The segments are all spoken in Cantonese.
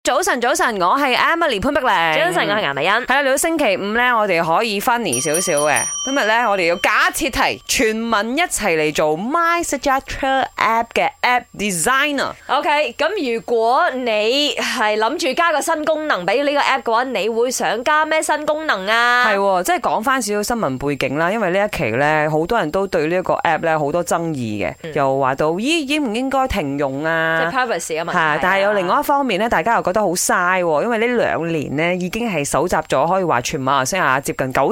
早晨，我係 Emily 潘碧玲。 早晨，我係顏美欣。 係啦，嚟到星期五咧，我哋可以 funny 少少嘅。今日咧，我哋要假設題，全民一齊嚟做 MySejahtera App 嘅 App Designer。 OK， 咁如果你係諗住加個新功能俾呢個 App 嘅話，你會想加咩新功能啊？ 係，即係講翻少少新聞背景啦。因為呢一期咧，好多人都對呢一個 App 咧好多爭議嘅，又話到咦應唔應該停用啊？ 即係 privacy 啊嘛。 係，但係有另外一方面咧，大家又覺得好嘥，因為呢2年咧已經係搜集咗可以話全馬來西亞接近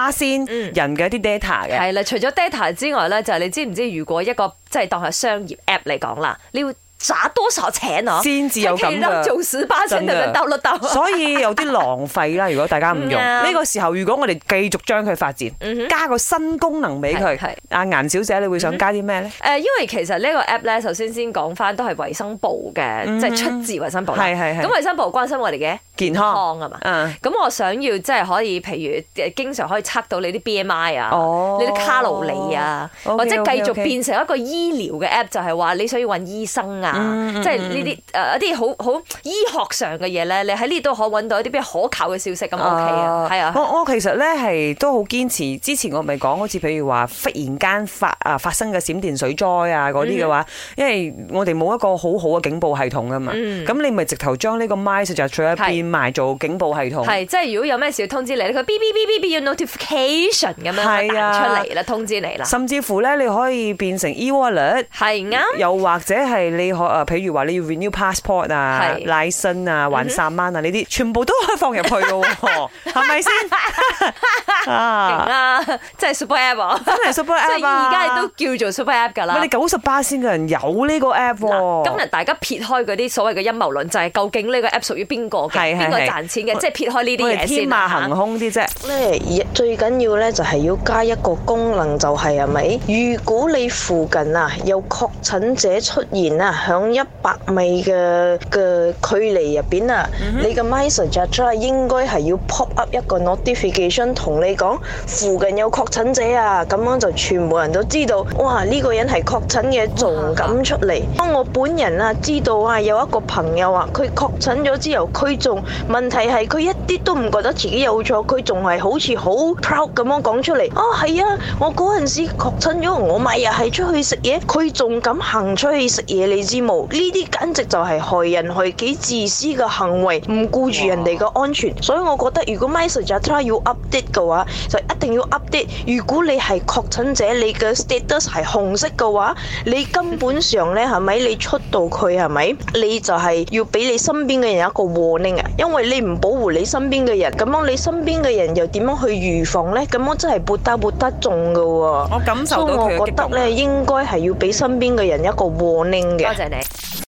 90%人嘅一啲 data 嘅。 係啦，除咗 data 之外咧，就係你知唔知如果一個即係當係商業 App 嚟講啦，你要砸多少錢啊？ 先至有咁嘅， 做18先就能兜得到。 所以有啲浪費啦。如果大家唔用呢個時候，如果我哋繼續將佢發展，加個新功能俾佢，阿顏小姐，你會想加啲咩咧？ 因為其實呢個 app 咧，首先講翻都係衛生部嘅，即係出自衛生部啦。係。咁衛生部關心我哋嘅健康啊嘛。咁我想要即係可以，譬如經常可以測到你啲 BMI 啊，你啲卡路里啊，或者繼續變成一個醫療嘅 app，就係話你想要揾醫生啊。即係呢啲一啲好醫學上嘅嘢咧，你喺呢度可揾到一啲比較可靠嘅消息咁 OK 啊，係啊。 我其實咧係都好堅持，之前我咪講好似譬如話忽然間發生嘅閃電水災啊嗰啲嘅話，因為我哋冇一個好好嘅警報系統啊嘛，咁你咪直頭將呢個 MySejahtera 變埋做警報系統。係， 即係如果有咩事要通知你，佢嗶嗶嗶嗶要 notification 咁樣彈出嚟啦，通知你啦。 甚至乎咧，你可以變成 e-wallet， 係啱。又或者係你譬如話你要 renew passport 啊、license 啊、還3蚊啊呢啲，全部都可以放入去咯，係咪先？ 勁啊！真係 super app 啊！ 真係 super app 啊！ 而家都叫做 super app 㗎啦。 你90%嘅人有呢個 app 喎。 今日大家撇開嗰啲所謂嘅陰謀論，就係究竟呢個 app 屬於邊個嘅？邊個賺錢嘅？即係撇開呢啲嘢先。 天馬行空啲啫。 咧最緊要咧就係要加一個功能，就係咪？如果你附近啊有確診者出現啊，響100米嘅距離入邊啊，你嘅 MySejahtera 應該係要 pop up 一個 notification 同你講附近有確診者啊，咁樣就全部人都知道，哇呢個人係確診嘅，仲敢出嚟。當我本人啊知道啊有一個朋友啊，佢確診咗之後，佢仲問題係佢一啲都唔覺得自己有錯，佢仲係好似好 proud 咁樣講出嚟。哦係啊，我嗰陣時確診咗，我咪又係出去食嘢，佢仲敢行出去食嘢，你知冇？呢啲簡直就係害人害己、自私嘅行為，唔顧住人哋嘅安全。所以我覺得如果 MySejahtera 要 update 嘅話，就一定要 update。如果你係確診者，你嘅 status 係紅色嘅話，你根本上咧係咪？你出到佢係咪？你就係要俾你身邊嘅人一個 warning 啊！因為你唔保護你身邊嘅人，咁樣你身邊嘅人又點樣去預防咧？咁樣真係撥得中噶喎。 我感受到佢嘅激動。 所以我覺得咧，應該係要俾身邊嘅人一個 warning 嘅。 多謝你。